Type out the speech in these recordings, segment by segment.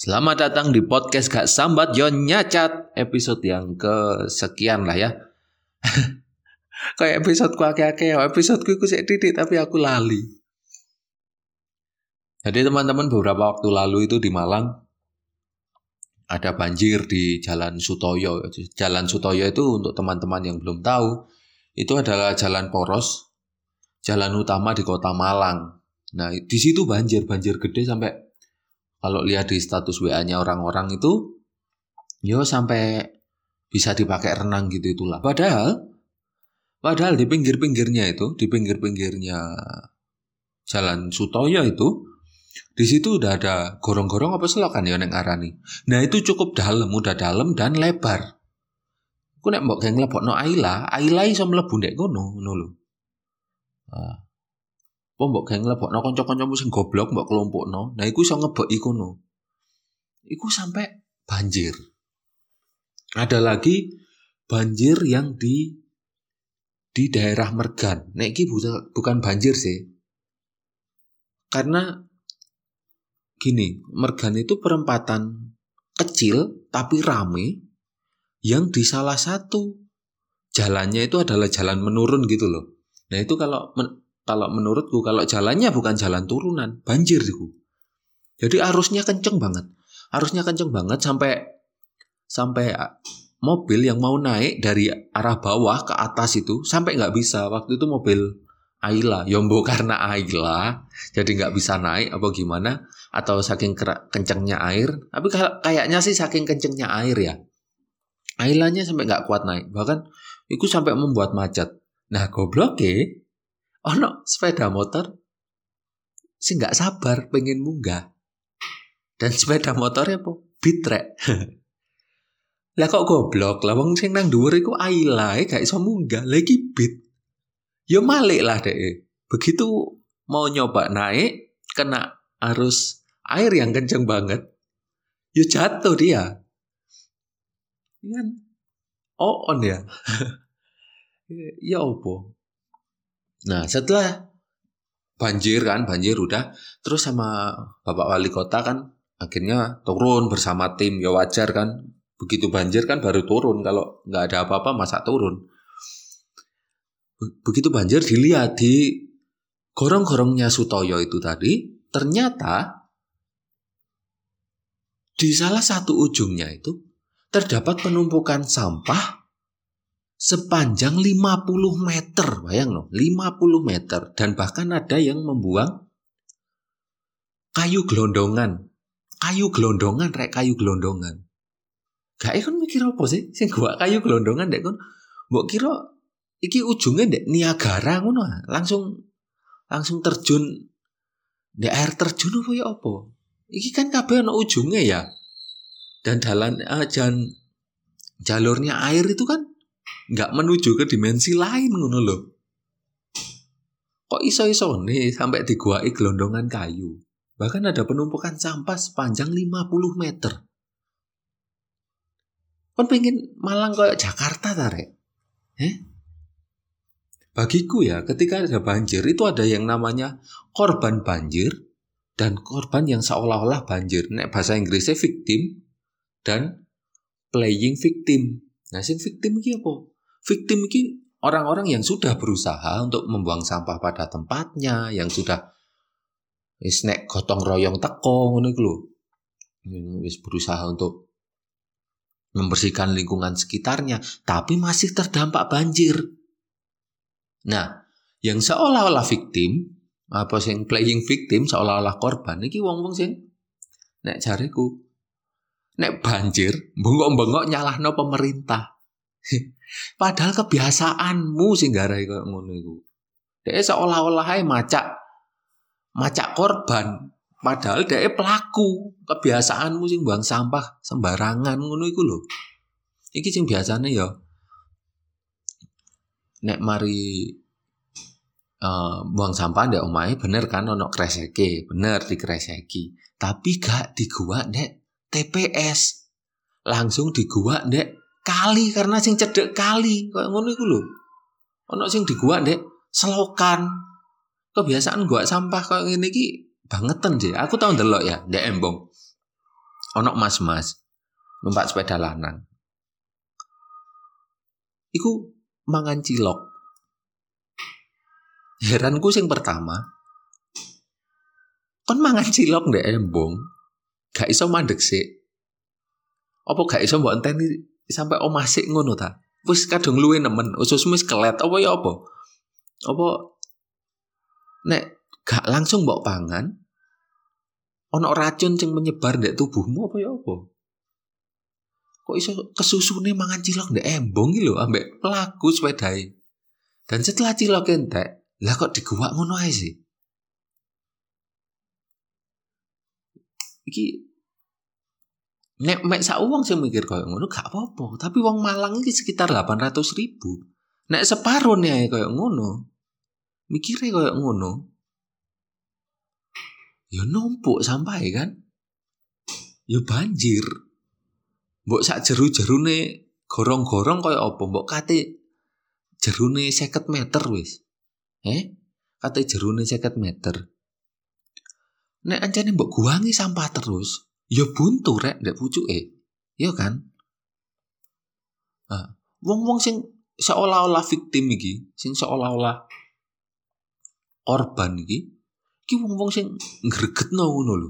Selamat datang di podcast Gak Sambat Yo Nyacat, episode yang kesekian lah ya. Kayak episode ku akeh-akeh, episode ku sik titik tapi aku lali. Jadi teman-teman, beberapa waktu lalu itu di Malang ada banjir di Jalan Sutoyo. Jalan Sutoyo itu untuk teman-teman yang belum tahu, itu adalah jalan poros, jalan utama di Kota Malang. Nah, di situ banjir gede sampai kalau lihat di status WA-nya orang-orang itu, sampai bisa dipakai renang gitu itulah. Padahal di pinggir-pinggirnya Jalan Sutoyo itu, di situ udah ada gorong-gorong apa selokan ya neng arani. Nah itu cukup dalam, udah dalam dan lebar. Aku nek mbok geng lebokno Aila iso mlebu ndek kono lho. Mbok geng lebokno kanca-kancamu sing goblok mbok kelompokno. Nah iku iso ngebeki kono. Iku sampai banjir. Ada lagi banjir yang di daerah Mergan. Nek iki bukan banjir sih. Karena gini, Mergan itu perempatan kecil tapi rame yang di salah satu jalannya itu adalah jalan menurun gitu loh. Nah itu kalau menurutku kalau jalannya bukan jalan turunan, banjir itu. Jadi arusnya kenceng banget. Sampai mobil yang mau naik dari arah bawah ke atas itu sampai nggak bisa. Waktu itu mobil Ayla, Yombo karena Ayla jadi nggak bisa naik apa gimana, atau saking kencengnya air. Tapi kayaknya sih saking kencengnya air ya. Aylanya sampai nggak kuat naik. Bahkan itu sampai membuat macet. Nah goblok ono sepeda motor sih nggak sabar pengen munggah. Dan sepeda motornya apa? Bitrek. Lah kok goblok, lah wong sing nang dhuwur iku Ayla gak iso munggah, lagi bit. Yo malik lah dek. Begitu mau nyoba naik, kena arus air yang kenceng banget. Yo jatuh dia. Kan on ya. Ya opo. Nah, setelah banjir udah, terus sama Bapak Wali Kota kan akhirnya turun bersama tim, ya wajar kan. Begitu banjir kan baru turun, kalau nggak ada apa-apa masa turun. Begitu banjir dilihat di gorong-gorongnya Sutoyo itu tadi, ternyata di salah satu ujungnya itu terdapat penumpukan sampah sepanjang 50 meter, bayang loh, 50 meter. Dan bahkan ada yang membuang kayu gelondongan. Kayu gelondongan. Gak kan mikir apa sih? Sing gua kayu gelondongan dek kon. Mbok kira iki ujungnya dek Niagara ngono. Langsung terjun di air terjun apa ya apa? Iki kan kabeh ana ujungnya ya. Dan jalurnya air itu kan enggak menuju ke dimensi lain ngono lho. Kok iso-iso nih sampai diguai gelondongan kayu. Bahkan ada penumpukan sampah sepanjang 50 meter. Kon pengen Malang kayak Jakarta tarik. Bagiku ya, ketika ada banjir itu ada yang namanya korban banjir dan korban yang seolah-olah banjir. Nek bahasa Inggrisnya victim dan playing victim. Nah, sing victim iki apa? Victim iki orang-orang yang sudah berusaha untuk membuang sampah pada tempatnya, yang sudah wis nek gotong royong teko ngono iku lho. Wis berusaha untuk membersihkan lingkungan sekitarnya, tapi masih terdampak banjir. Nah, yang seolah-olah victim, apa sing playing victim, seolah-olah korban, iki wong-wong sing nek jariku, nek banjir, bengok-bengok nyalahno pemerintah. Padahal kebiasaanmu sing garai koyo ngono iku. Dhek seolah-olah ae macak korban. Padahal dhek pelaku, kebiasaanmu sing buang sampah sembarangan ngono iku lho. Iki sing biasane ya nek mari buang sampah ndek omahe bener kan ono kreseke, bener dikreseki. Tapi gak diguak ndek TPS. Langsung diguak ndek kali karena sing cedek kali koyo ngono iku lho. Ono sing diguak ndek selokan. Kebiasaan guak sampah koyo ngene iki bangetan sih. Aku tau ndelok ya, ndek Embong. Ono mas-mas numpak sepeda lanang. Iku mangan cilok. Heranku sing pertama, kon mangan cilok ndek embong, gak iso mandek sik. Apa gak iso mbok enteni sampai omah sik ngono ta? Wis kadung luwe nemen, ususmu wis kelet apa ya apa? Apa nek gak langsung mbok pangan, ono racun sing menyebar ndek tubuhmu apa ya apa? Kok iso kesusune mangan cilok ndek embong iki lho ambek pelaku sepedae. Dan setelah cilok entek, lah kok diguwak ngono ae sih? Iki nek mek sak wong sing mikir koyo ngono gak apa-apa, tapi wong Malang iki sekitar 800.000. Nek separone ae koyo ngono, mikire koyo ngono, ya numpuk sampahe kan? Ya banjir. Mbok sak jeru-jerune gorong-gorong koyo apa? Mbok kate jerune 50 meter wis. Kate jerune 50 meter. Nek ancene mbok guwangi sampah terus, ya buntu rek ndek pucuke. Ya kan? Wong-wong sing seolah-olah victim iki, sing seolah-olah korban iki wong-wong sing ngregetno ngono lho.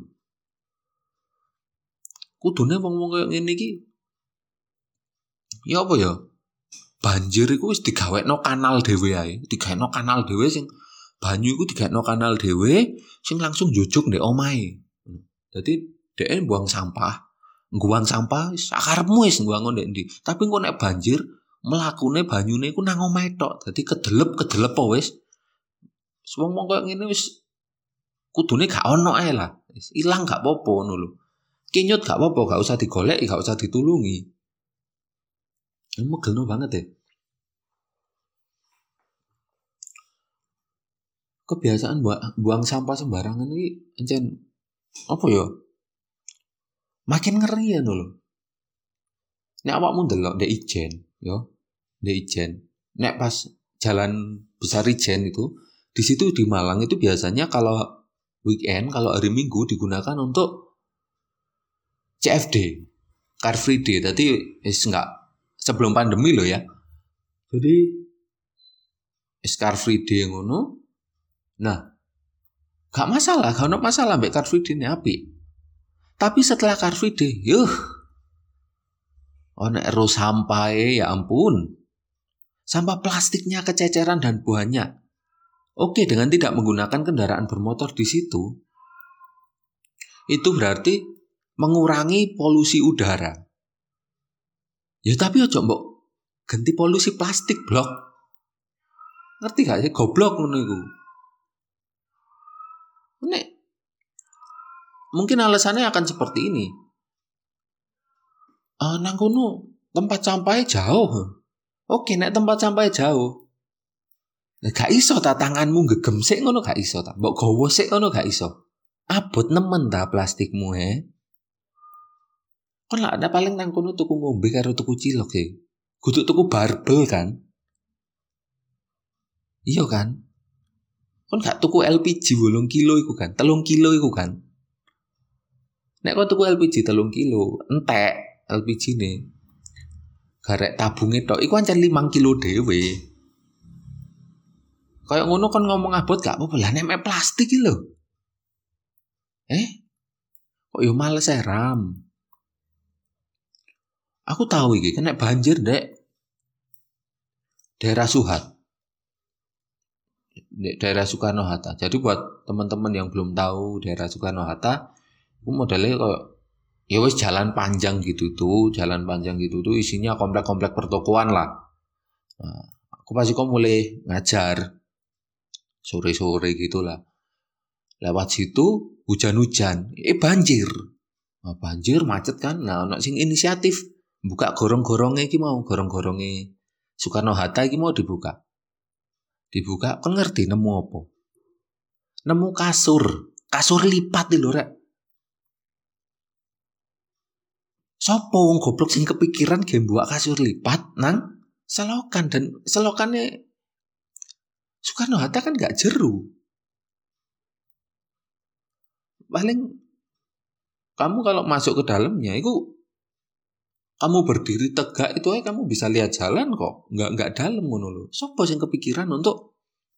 Kudune wong-wong koyo ngene iki ya apa ya? Banjir iku wis digawekno kanal dhewe ae, digawekno kanal dhewe sing banyu iku digawekno kanal dhewe sing langsung njujug ndek omahe. Dadi dhek buang sampah wis sakarepmu wis ngguang ndek ndi. Tapi engko nek banjir mlakune banyune iku nang omahe tok. Dadi kedelep apa wis. Wong-wong koyo ngene wis kudune gak ono ae lah. Wis ilang gak apa-apa ngono lho. Kinyut gak apa-apa, gak usah digoleki, gak usah ditulungi. Megelno banget ya. Kebiasaan buang sampah sembarangan ini encen apa ya? Makin ngeri ya lho. Nek awakmu ndelok ndek Ijen, yo. Ndek Ijen. Nek pas jalan besar Ijen itu, di situ di Malang itu biasanya kalau weekend, kalau hari Minggu digunakan untuk CFD, Car Free Day. Tadi enggak sebelum pandemi loh ya. Jadi Car Free Day ngono. Nah, gak masalah, gak ada masalah mbek Car Free Day ini apik. Tapi setelah Car Free Day, ono ero sampah ya ampun. Sampah plastiknya kececeran dan banyak. Oke, dengan tidak menggunakan kendaraan bermotor di situ, itu berarti mengurangi polusi udara. Ya tapi ojo mbok ganti polusi plastik blok. Ngerti gak sih goblok ngono iku. Nek mungkin alasannya akan seperti ini. Nang kono tempat sampahnya jauh. Oke, nek tempat sampahnya jauh. Nah, gak iso ta tanganmu gegem sik ngono gak iso ta. Mbok gowo sik ngono gak iso. Abot nemen ta plastikmu Kon lah ada paling nang kono tuku ngombe karo tuku cilok ya. Kudu tuku barbel kan? Iya kan? Kon gak tuku LPG 8 kilo iku kan? 3 kilo iku kan? Nek kon tuku LPG 3 kilo, entek LPG ne. Garek tabunge tok iku ancen 5 kilo dhewe. Kayak ngono kon ngomong abot gak apa-apa lah nek plastik iki lho. Kok yo males ram. Aku tahu iki kena banjir dek daerah Suhat. Daerah Soekarno-Hatta. Jadi buat teman-teman yang belum tahu daerah Soekarno-Hatta, aku modelnya kayak ya wis jalan panjang gitu tuh isinya komplek-komplek pertokoan lah. Nah, aku pasti kok mulai ngajar sore-sore gitulah. Lewat situ hujan-hujan, banjir. Nah, banjir macet kan. Nah, ono sing inisiatif buka gorong-gorongnya iki mau gorong-gorongnya Soekarno-Hatta iki mau dibuka. Dibuka, kan ngerti nemu apa? Nemu kasur lipat lho rek. Sopo wong goblok sing kepikiran game buat kasur lipat nang selokan dan selokannya Soekarno-Hatta kan gak jeru. Paling Kamu kalau masuk ke dalamnya itu kamu berdiri tegak itu aja kamu bisa lihat jalan kok. Enggak dalam ngono lho. Sopo sing kepikiran untuk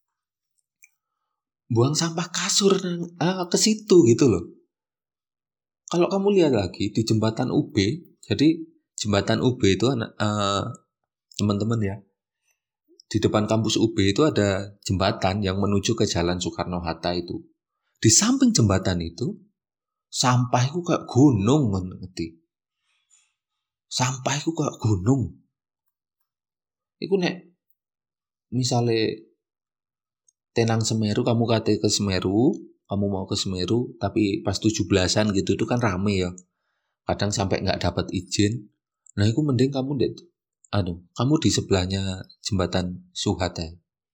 buang sampah kasur ke situ gitu loh. Kalau kamu lihat lagi di jembatan UB, jadi jembatan UB itu teman-teman ya, di depan kampus UB itu ada jembatan yang menuju ke Jalan Soekarno-Hatta itu. Di samping jembatan itu, sampah itu kayak gunung, ngerti? Sampah itu kayak gunung. Iku nek misalnya tenang Semeru, kamu kate ke Semeru, kamu mau ke Semeru, tapi pas 17-an gitu itu kan rame ya. Kadang sampai nggak dapat izin. Nah, itu mending kamu kamu di sebelahnya jembatan Suhata.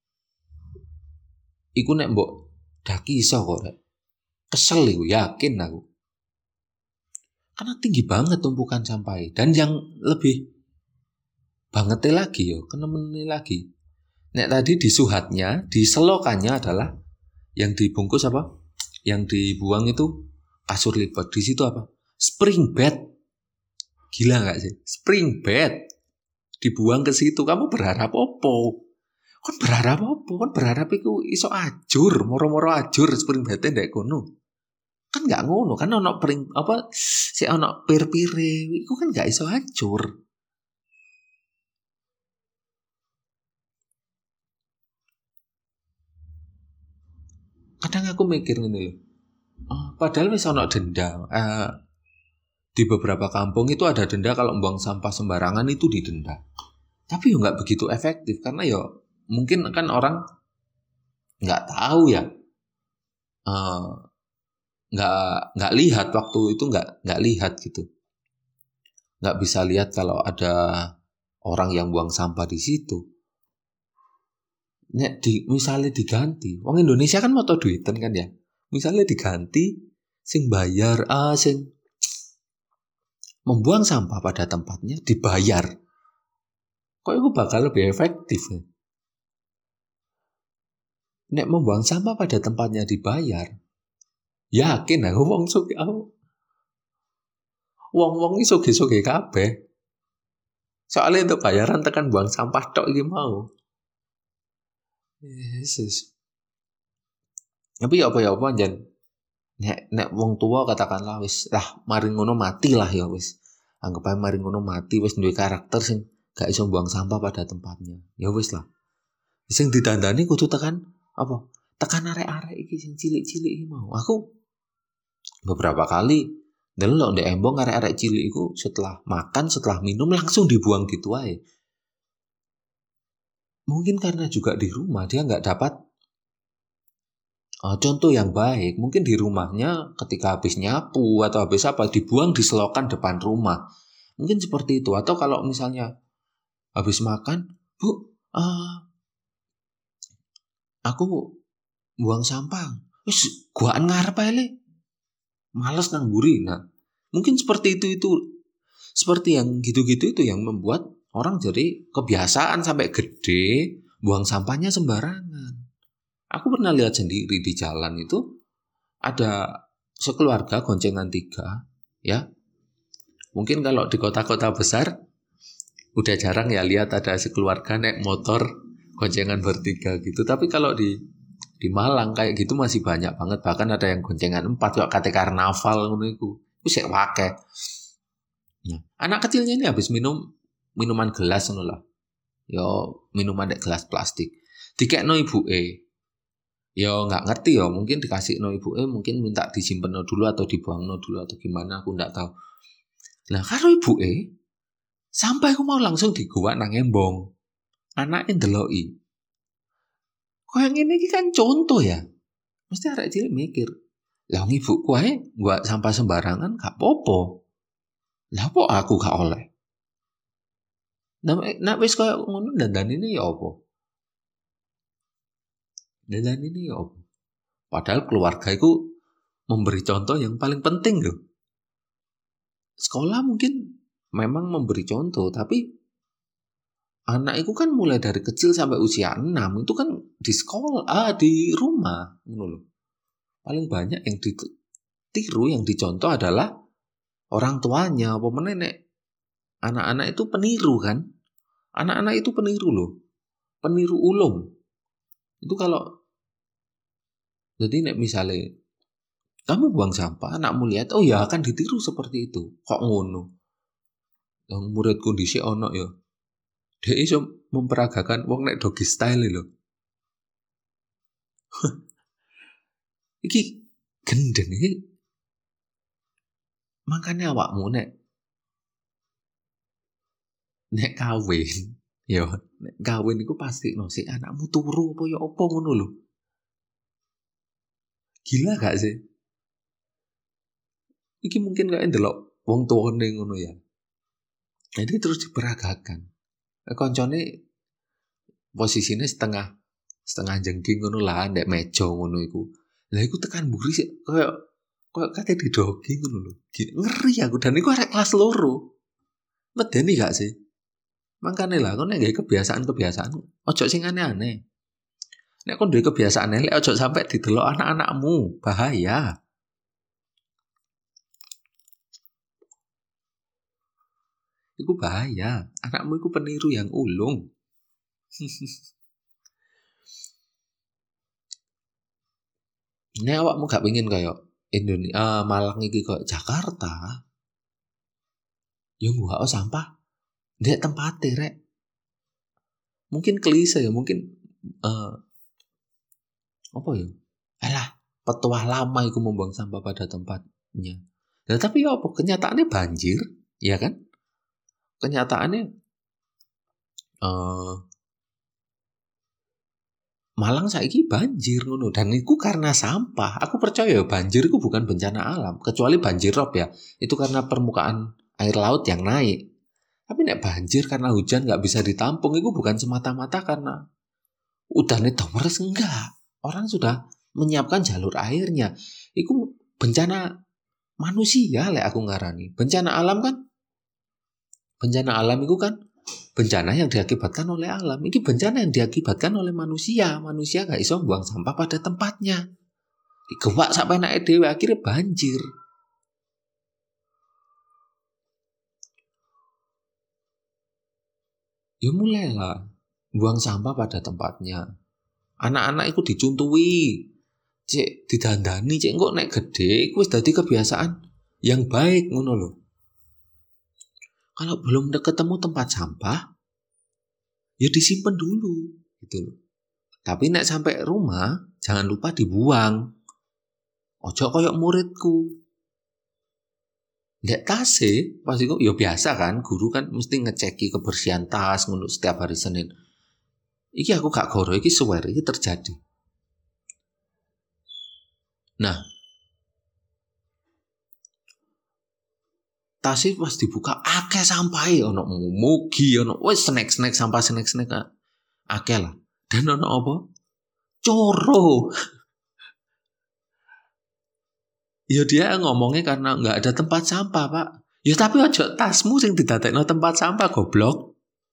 Iku nek mbok daki iso kok rek. Kesel iku, yakin aku. Karena tinggi banget tumpukan sampah. Dan yang lebih bangetnya lagi yo, kenemennya lagi. Nek tadi di suhatnya, di selokannya adalah yang dibungkus apa? Yang dibuang itu kasur lipat. Di situ apa? Spring bed. Gila nggak sih? Spring bed dibuang ke situ. Kamu berharap opo? Kon berharap opo? Kon berharap iku iso ajur, moro-moro ajur spring bed ndek kono. Kan nggak ngono, kan ono pring apa si ono pir-pire, iku kan nggak iso ajur. Kadang aku mikir ngene lho. Padahal wis ono denda. Di beberapa kampung itu ada denda kalau buang sampah sembarangan itu didenda. Tapi yo nggak begitu efektif karena yo mungkin kan orang nggak tahu ya, nggak lihat waktu itu nggak lihat gitu, nggak bisa lihat kalau ada orang yang buang sampah di situ. Nek misalnya diganti, wong Indonesia kan mau duitan kan ya, misalnya diganti, sing bayar, sing membuang sampah pada tempatnya dibayar. Kok itu bakal lebih efektif ya? Nek membuang sampah pada tempatnya dibayar, yakin aku wong iki soge-soge kabeh. Soalnya untuk bayaran tekan buang sampah tok iki mau. Yesus. Tapi ya apa anjen. Nek wong tua katakanlah wis mari ngono mati lah ya wis. Anggap ae mari ngono mati wis duwe karakter sing gak iso buang sampah pada tempatnya. Ya wis lah. Sing didandani kudu tekan apa? Tekan arek-arek iki sing cilik-cilik iki mau. Aku beberapa kali delok ndek embong arek-arek cilik iku setelah makan, setelah minum langsung dibuang gitu aja. Mungkin karena juga di rumah dia nggak dapat contoh yang baik. Mungkin di rumahnya ketika habis nyapu atau habis apa dibuang di selokan depan rumah. Mungkin seperti itu. Atau kalau misalnya habis makan, Bu, aku buang sampah. Wis guaan ngarep ae le. Males nang mburi. Nah, mungkin seperti itu seperti yang gitu-gitu itu yang membuat orang jadi kebiasaan sampai gede buang sampahnya sembarangan. Aku pernah lihat sendiri di jalan itu ada sekeluarga goncengan 3 ya. Mungkin kalau di kota-kota besar udah jarang ya lihat ada sekeluarga naik motor goncengan bertiga gitu. Tapi kalau di Malang kayak gitu masih banyak banget. Bahkan ada yang goncengan 4 kok kate karnaval ngono iku. Wis sik akeh. Nah, anak kecilnya ini habis minum minuman gelas ngono lah. Yo minuman dek gelas plastik. Dikekno ibuke. Yo nggak ngerti yo, mungkin dikasih no ibuke, mungkin minta disimpen dulu atau dibuang dulu atau gimana aku nggak tahu. Nah karo ibuke sampai aku mau langsung digowak nang embong. Anake ndeloki. Kok yang ini kan contoh ya. Mesti arek cilik mikir, lah ibuku ae gua sampah sembarangan gak popo. Lah kok aku gak oleh? Nah wis koyo ngono dandanine ya apa? Dan ini ya apa? Padahal keluarga itu memberi contoh yang paling penting loh. Sekolah mungkin memang memberi contoh, tapi anak itu kan mulai dari kecil sampai usia 6 itu kan di sekolah, di rumah. Paling banyak yang ditiru, yang dicontoh adalah orang tuanya, apa menenek anak-anak itu peniru kan? Anak-anak itu peniru loh, peniru ulung. Itu kalau jadi nek misalnya kamu buang sampah, anakmu lihat, oh ya akan ditiru seperti itu. Kok ngono? Yang muridku dhisik ono ya. Dia iso memperagakan wong nek doggy style lho. Iki gendeng iki. Makanya awakmu nek kawin, ya nek kawin iku pasti no si anakmu turu apa ya apa ngono lho. Gila gak sih? Iki mungkin kayak ndelok wong tuane ngono ya. Jadi terus diperagakan. Koncone posisinya setengah jengking ngono lah, ndek meja ngono iku. Lah iku tekan mburi sih kayak kate didogi ngono lho. Ngeri aku dan iku arek kelas loro. Medeni gak sih? Makane lah kon nek gawe kebiasaan-kebiasaan ojo sing aneh-aneh. Nek kon duwe kebiasaan elek ojo sampai didelok anak-anakmu, bahaya. Iku bahaya. Anakmu iku peniru yang ulung. Nek awakmu gak pengen kayak Indonesia, Malang iki kok Jakarta, ya gak sampah ndek tempate rek. Mungkin klise ya, mungkin apa ya? Alah, petuah lama iku membuang sampah pada tempatnya. Nah, tapi ya apa? Kenyataannya banjir, ya kan? Kenyataannya Malang saiki banjir ngono dan itu karena sampah. Aku percaya banjir itu bukan bencana alam, kecuali banjir rob ya. Itu karena permukaan air laut yang naik. Tapi nek banjir karena hujan nggak bisa ditampung itu bukan semata-mata karena udannya meres, enggak. Orang sudah menyiapkan jalur airnya. Itu bencana manusia lek aku ngarani. Bencana alam itu kan bencana yang diakibatkan oleh alam. Ini bencana yang diakibatkan oleh manusia. Manusia gak iso buang sampah pada tempatnya. Digewak sampai naik dewe akhirnya banjir. Ya mulailah buang sampah pada tempatnya. Anak-anak itu dicuntui, cek didandani, cek kok naik gede, itu wis dadi kebiasaan yang baik ngono lho. Kalau belum ketemu tempat sampah, ya disimpan dulu gitu loh. Tapi nek sampai rumah, jangan lupa dibuang. Ojo koyok muridku. Ndek tase, pas itu ya biasa kan, guru kan mesti ngeceki kebersihan tas ngono setiap hari Senin. Iki aku gak goro, iki swear, iki terjadi. Nah, tasnya pas dibuka akeh sampai ono mugi ono wes snack sampah snack akeh lah. Dan ono apa? Coro. Ya dia ngomongnya karena nggak ada tempat sampah pak. Ya tapi aja tasmu sing didadekno tempat sampah goblok.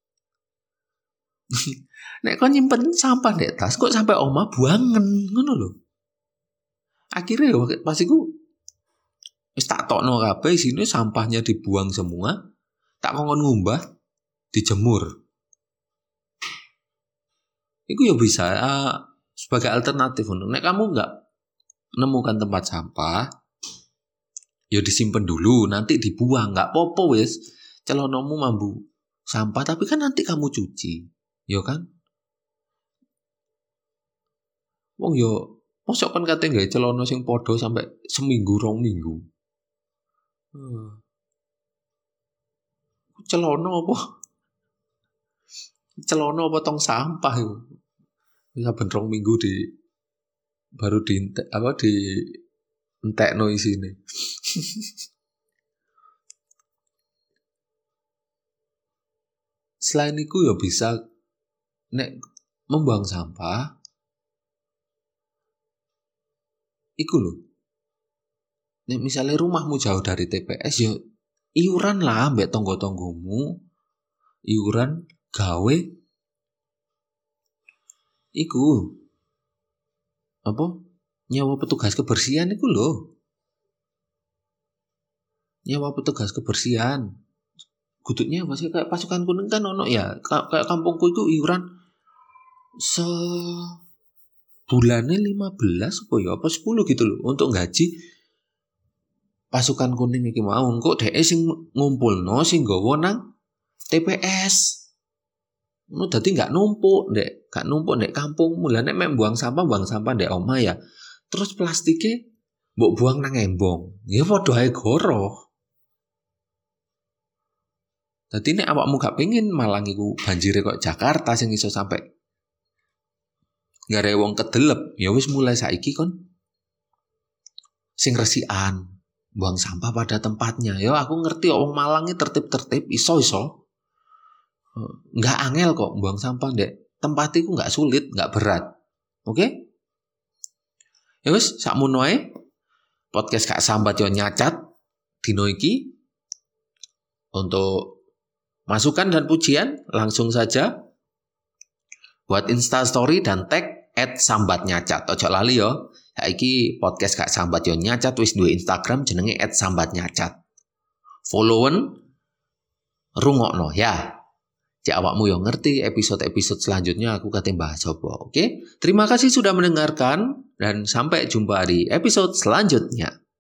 Nek kau nyimpen sampah dek tas kok sampai oma buangen ngono lho. Akhirnya pas iku wis tak tokno kabeh sini sampahnya dibuang semua. Tak kongkon ngumbah dijemur. Iku ya bisa sebagai alternatif. Nek kamu nggak menemukan tempat sampah, ya disimpan dulu, nanti dibuang, nggak popo wes. Celonomu mambu sampah, tapi kan nanti kamu cuci, ya kan? Wong yo, mosok kan kate nggawe celono sing podo sampai seminggu 2 minggu. Celono apa? Celono apa tong sampah itu? Saben 2 minggu baru di entekno isine. Selain itu ya bisa nek membuang sampah iku lho. Nek misalnya rumahmu jauh dari TPS ya iuran lah mbek tonggo-tonggomu. Iuran gawe iku apa? Nyawa petugas kebersihan iku lho. nyewa petugas kebersihan. Guduknya masih kayak pasukan kuning kan ono ya. Kayak kampungku itu iuran bulannya 15 apa 10 gitu loh untuk gaji pasukan kuning iki mau. Kok dhek sing ngumpulno sing nggawa nang TPS. Ngono dadi gak numpuk ndek kampung. Mulane mek buang sampah ndek omah ya. Terus plastiknya mbok buang nang embong. Ya padha ae goro. Dadi nek awakmu gak pengen Malang iku banjire kok Jakarta sing iso sampai gare wong kedelep, ya wis mulai saiki kon sing resikan, buang sampah pada tempatnya. Ya aku ngerti wong Malang iki tertib-tertib, iso. Enggak angel kok buang sampah ndek tempat iku enggak sulit, enggak berat. Oke? Ya wis sakmono ae. Podcast Kak Sambat yo nyacat dino iki. Untuk masukan dan pujian langsung saja buat Instastory dan tag @sambatnyacat. Ojo lali yo. Saiki podcast Kak Sambat yo nyacat wis duwe Instagram jenenge @sambatnyacat. Followen rungokno ya. Cek awakmu yo ngerti episode-episode selanjutnya aku kate bahas apa. Oke? Terima kasih sudah mendengarkan dan sampai jumpa di episode selanjutnya.